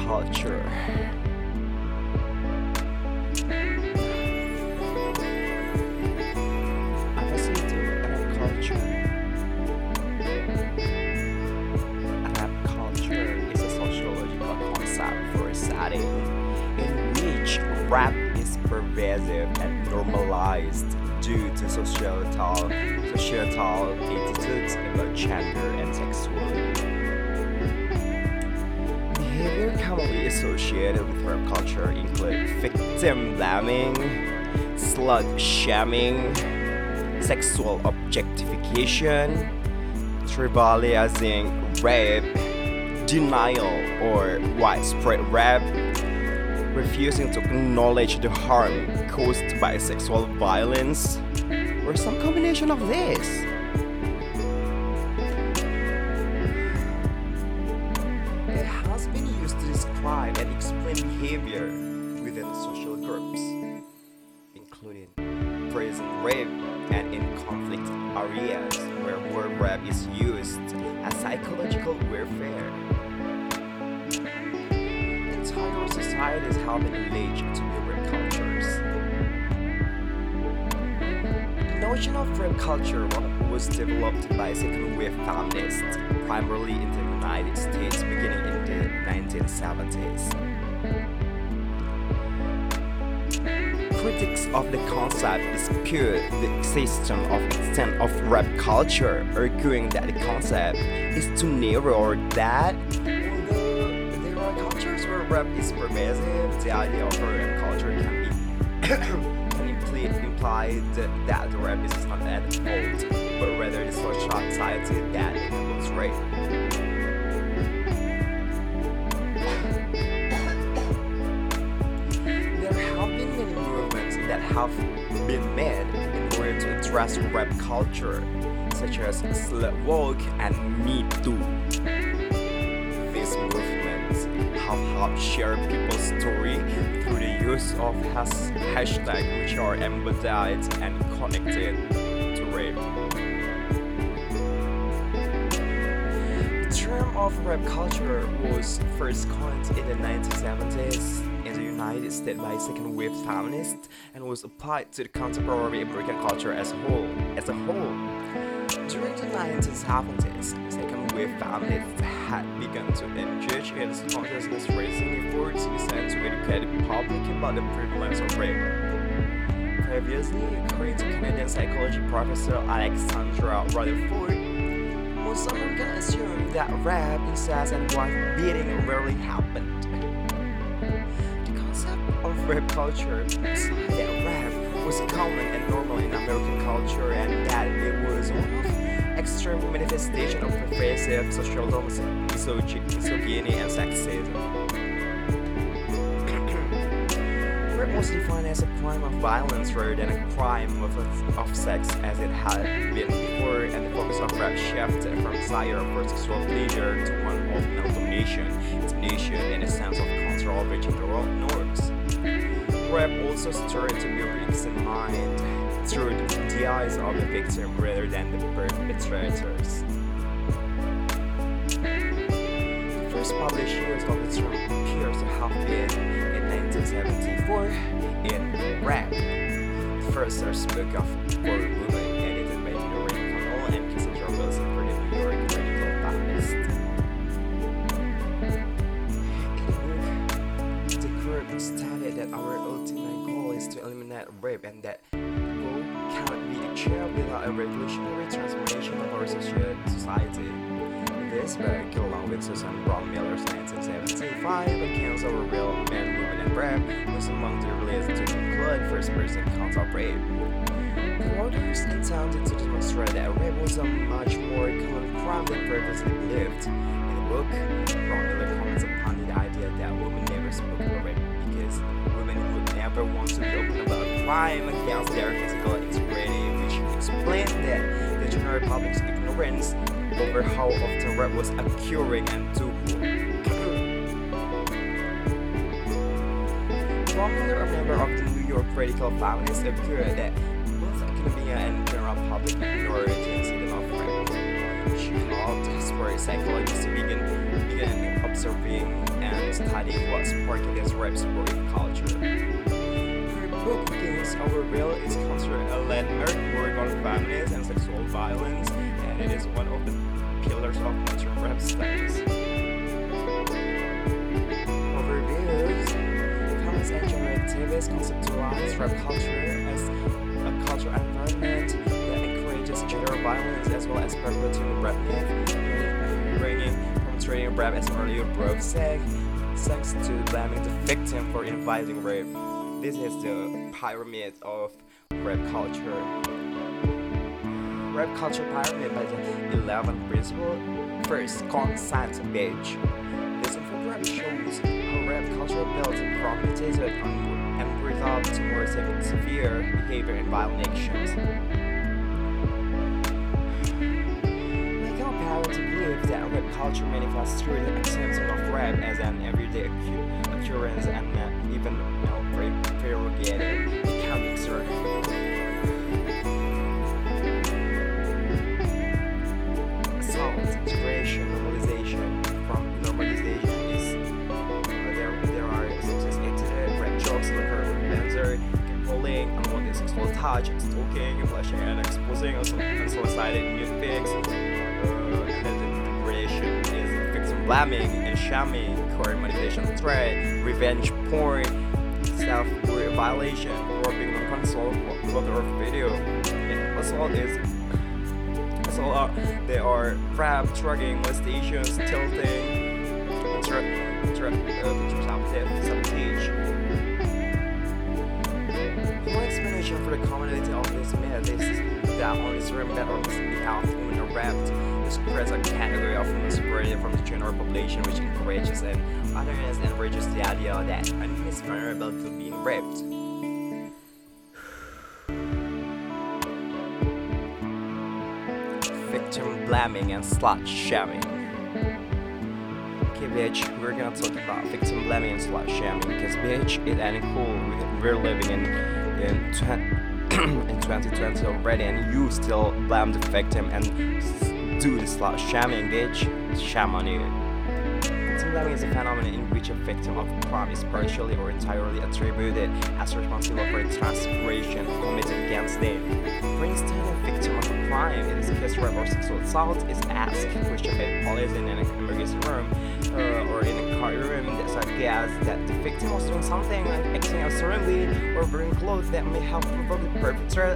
culture. Opposite to rap culture. Rap culture is a sociological concept for a setting in which rap is pervasive and normalized due to societal attitudes about gender and sexuality. Behavior commonly associated with rap culture include victim blaming, slut shaming, sexual objectification, trivializing rape, denial or widespread rape, refusing to acknowledge the harm caused by sexual violence, or some combination of this. It has been used to describe and explain behavior within social groups, including prison rape and in conflict areas where word rape is used as psychological warfare. Entire societies have been alleged to be rape cultures. The notion of rape culture was developed by second wave feminists, primarily in the United States beginning in the 1970s. Critics of the concept dispute the existence of extent of rap culture, arguing that the concept is too narrow or that, although there are cultures where rap is pervasive, the idea of a rap culture can imply that the rap is not at fault, but rather the society that enables rape. That have been made in order to address rap culture, such as Slut Walk and Me Too. These movements have helped share people's story through the use of hashtags which are embodied and connected to rape. The term of rap culture was first coined in the 1970s in the United States by second wave feminists and was applied to the contemporary American culture as a whole. During the 1970s, second wave feminists had begun to engage in consciousness raising efforts designed to educate the public about the prevalence of rape. Previously, according to Canadian psychology professor Alexandra Rutherford, most Americans assumed that rape, incest, and wife beating rarely happened. Of rap culture, that rap was common and normal in American culture and that it was one of extreme manifestation of pervasive social misogyny and sexism. Rape was defined as a crime of violence rather than a crime of sex as it had been before, and the focus of rap shifted from desire for sexual pleasure to one of male-domination, intimidation, and a sense of control over gender norms. Rap also started to be re-examined through the eyes of the victim rather than the perpetrators. The first published use of the term appears to have been in 1974 in Rap, the first source book of For Women edited by Noreen Connell and Cassandra Wilson for the New York Radical Feminist. In the book, the group stated that our ultimate goal is to eliminate rape and that goal cannot be achieved without a revolutionary transformation of our society. This book, along with Susan Brown Miller's 1975 accounts of real men, women, and rape, was among the earliest to include first-person accounts of rape. The authors intended to demonstrate that rape was a much more common crime than previously believed. In the book, Brown Miller comments upon the idea that women never spoke about rape because women would never want to be open about a crime against their physical integrity, which explained that the general public's ignorance over how often rape was occurring and to whom. Brown Miller, a member of the New York Radical Feminists, appeared that both academia and general public ignored the incident of rape. She helped historic psychologists to begin observing and studying what sparked this rap culture. Her book Against Our Will is considered a landmark work on feminism and sexual violence, and it is one of the pillars of modern rap studies. Overviews: feminist and gender activists conceptualize rap culture as a cultural environment that encourages gender violence as well as perpetuating rap myth, portraying rap as merely a bro sex to blaming the victim for inviting rape. This is the pyramid of rap culture. Rap culture pyramid by the 11th principle. First, consent bitch. This infographic shows how rap culture builds a promulgated and resolved to more severe behavior and violent actions. To believe that rap culture manifests through the acceptance of rap as an everyday occurrence and even prerogative. It can be absurd. Assault, integration, normalization. From normalization is there are sophisticated rap jokes like banter, catcalling, unwanted sexual touch, stalking, flashing and exposing unsolicited nude pics. Blaming and shaming, core manipulation threat, revenge porn, self-violation, or being non-consensual photo or video. They are rap, drugging, molestations, tilting, sabotage. One explanation for the commonality of this myth is that only certain men on behalf of women are raped. This creates a category of women separated from the general population, which encourages and otherness and encourages the idea that a woman is vulnerable to being raped. Victim blaming and slut shaming. Okay, bitch, we're gonna talk about victim blaming and slut shaming because, bitch, it ain't cool. We're living in 2020 already, and you still blame the victim and do the slut shaming, bitch. Shame on you. Victim blaming is a phenomenon in which a victim of a crime is partially or entirely attributed as responsible for a transgression committed against them. For instance, a victim of a crime, in this case rape or sexual assault, is asked questioned by police in an emergency room or in a courtroom that suggests that the victim was doing something like acting absurdly or wearing clothes that may have provoked the perpetrator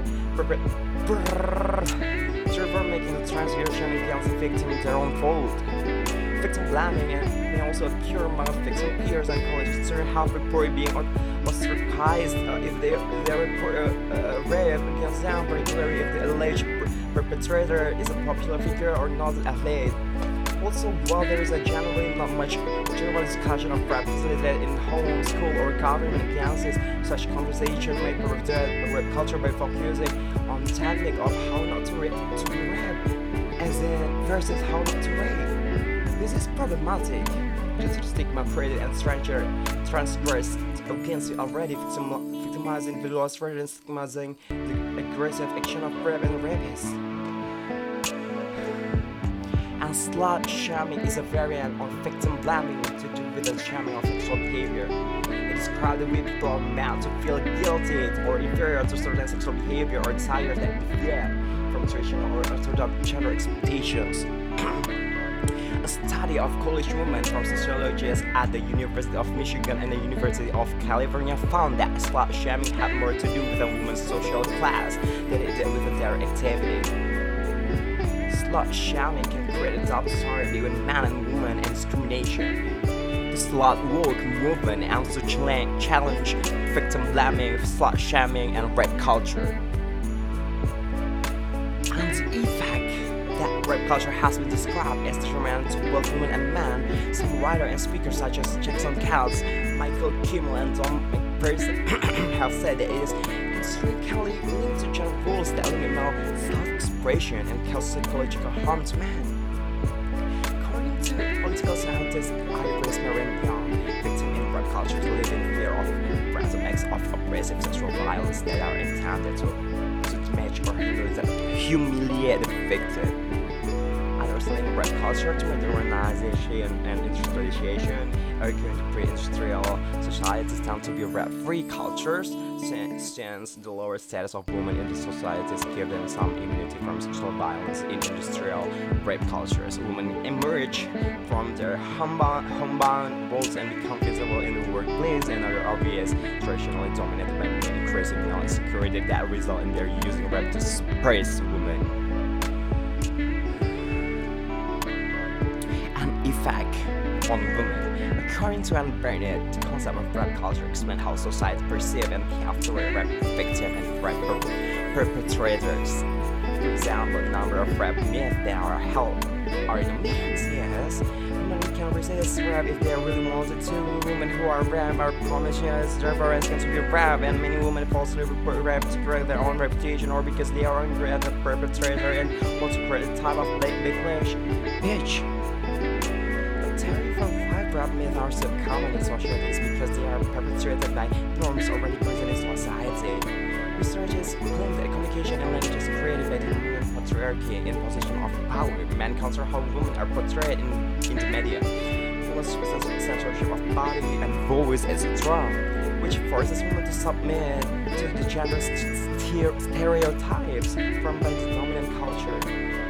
making the transgression against the victim their own fault. Victim blaming may also occur among victim peers and college students have reported being ostracized if they report a rape against them, particularly if the alleged perpetrator is a popular figure or not an athlete. Also, while there is generally not much general discussion of rap facilitated in home, school, or government agencies, such conversation may pervert rap culture by focusing on the technique of how not to be raped, as in versus how not to rape. This is problematic. Just stigma created and transgressed against the already victimized individuals rather than stigmatizing the aggressive action of rape and rapists. And slut shaming is a variant of victim blaming to do with the shaming of sexual behavior. It describes the way people are meant to feel guilty or inferior to certain sexual behavior or desires that differ from traditional or orthodox gender expectations. A study of college women from sociologists at the University of Michigan and the University of California found that slut shaming had more to do with a woman's social class than it did with their activity. Slut shaming can create a double standard between man and woman and discrimination. The slut woke movement also challenge victim blaming, slut shaming, and rape culture. And the effect that rape culture has been described as detrimental to both women and men, some writers and speakers such as Jackson Katz, Michael Kimmel, and Don McPherson have said that it is intrinsically linked to gender roles that limit male self-expression and cause psychological harm to men. According to political scientist Iris Marin-Young, victims in rape culture live in fear of random acts of aggressive sexual violence that are intended to damage or humiliate the victim. Others in rap culture to modernization and industrialization, arguing to pre-industrial societies tend to be rap-free cultures, since the lower status of women in the societies give them some immunity from sexual violence. In industrial rape cultures, women emerge from their homebound roles and become visible in the workplace and other obvious, traditionally dominated by men, increasing male insecurity that result in their using rap to suppress women. An effect on women. According to Anne Barnett, the concept of rap culture explains how society perceives and after rap victim and rap perpetrators. For example, the number of rap myths that are held are in the millions, yes. Women can resist rap if they really wanted to. Women who are rap are promiscuous, therefore asking to be rap, and many women falsely report rap to correct their own reputation or because they are angry at the perpetrator and want to create a type of backlash. Bitch! Rap myths are so common in societies because they are perpetuated by norms already present in society. Researchers claim that communication and language is created by the dominant patriarchy in position of power. Men counter how women are portrayed in the media, plus censorship of body and voice, etc., which forces women to submit to the gender stereotypes formed by the dominant culture.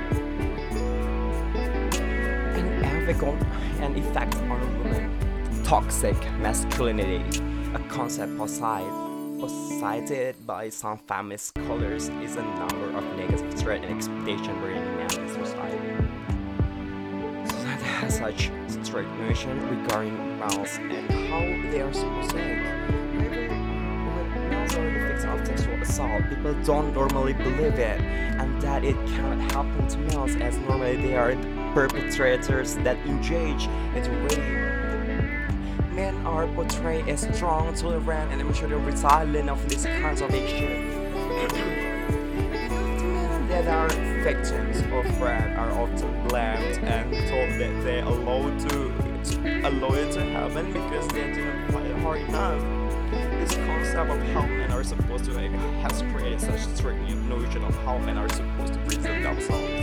An effect on women. Toxic masculinity, a concept posited by some feminist scholars, is a number of negative threat and expectation bringing men in society. Society has such strict notion regarding males and how they are supposed to act. However, when males are the victim of sexual assault, people don't normally believe it, and that it cannot happen to males as normally they are perpetrators that engage in rape. Men are portrayed as strong, tolerant, and emotionally resilient of these kinds of action. Men that are victims of rape are often blamed and told that they are allowed it to happen because they didn't fight hard enough. This concept of how men are supposed to act has created such a strict notion of how men are supposed to present themselves.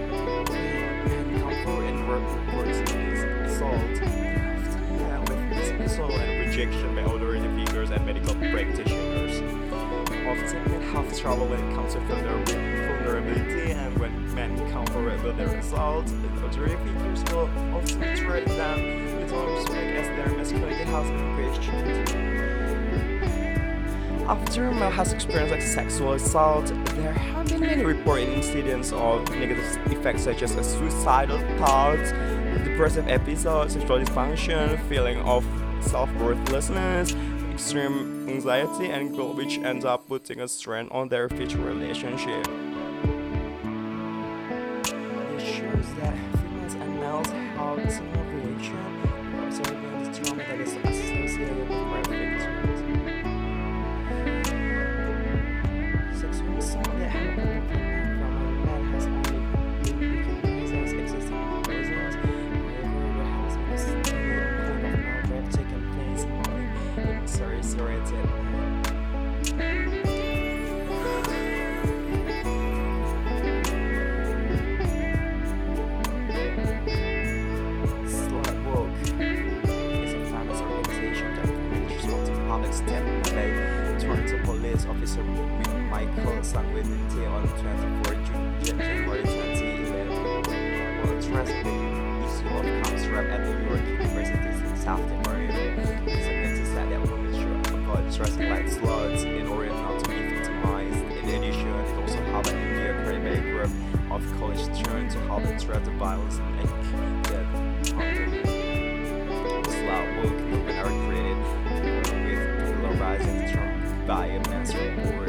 Dismissal and rejection by authority figures and medical practitioners. Often men have trouble when it comes to vulnerability, and when men counter with their assault, the authority figures will often treat them with little respect as their masculinity has been questioned. After a male has experienced sexual assault, there have been many reported incidents of negative effects such as suicidal thoughts, depressive episodes, sexual dysfunction, feeling of self-worthlessness, extreme anxiety, and guilt, which ends up putting a strain on their future relationship. This shows that females and males have similar reaction observing the trauma that is associated with rape victims. Sexual assault that happened from a man has only been recognized as existing in prisons. However, there has been a still kind of rape taking place only in seriated Slutwalk is a famous organization that promotes responsible public statement by Toronto police officer Michael Sanguinetti on 24 January 2011 while addressing the issue of counts rap at New York University's Southern area. Sanguinetti said that women should avoid dressing like sluts in order not to be victimized. In addition, it also helped an India create a group of college students to help address the violence and death on women. Slutwalk movement are created with polarizing the term by a mass report.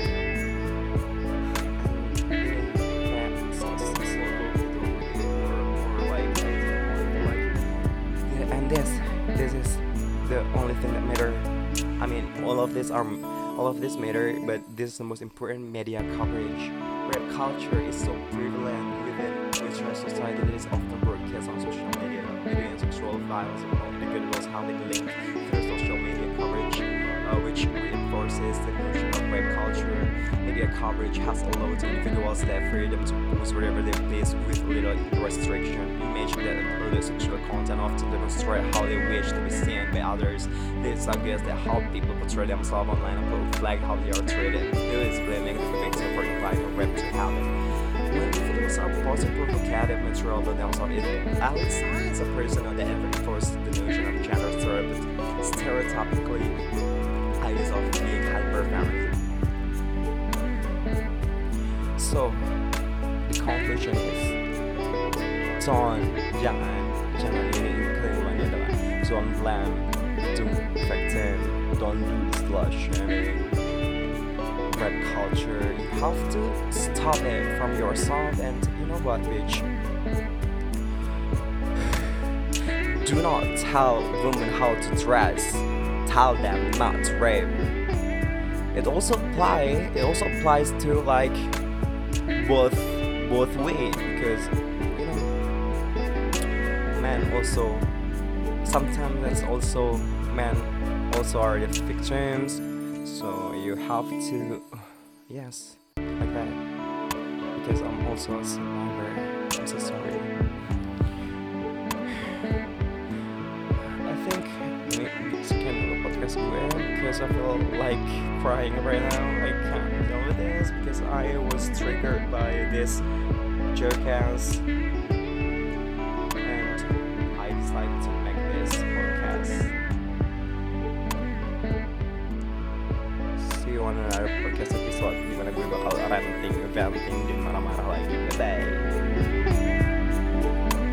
And this is the only thing that matter. I mean, all of this matter, but this is the most important media coverage. Rap culture is so prevalent within Western society that is often broadcast on social media. Video and sexual violence among individuals have been linked through social media coverage, which reinforces reinforces the notion of rape culture. Media coverage has allowed individuals the freedom to post whatever they please with little restriction. Imagine that the sexual content often demonstrate how they wish to be seen by others. This suggests that how people portray themselves online reflect how they are treated. This is blaming the victim for inviting rape to happen. When individuals are posting provocative material about themselves, it outside a person that reinforces the notion of gender stereotypically ideas of being hyper-feminine. So, the conclusion is, jangan ini keluarnya adalah don't blame the victim, don't do slut shaming, rape culture. You have to stop it from yourself, and you know what, bitch? Do not tell women how to dress. Tell them not to rape. It also applies to like both ways, because you know, men also sometimes that's also men also are the victims. So you have to yes, like that, because I'm also a survivor. I'm so sorry. I think maybe sekian dulu podcast gue, because I feel like crying right now. I can't deal with this because I was triggered by this jokes, and I decided to make this podcast. See you on another podcast episode dimana gue bakal ranting, venting, dan marah-marah lagi. Bye.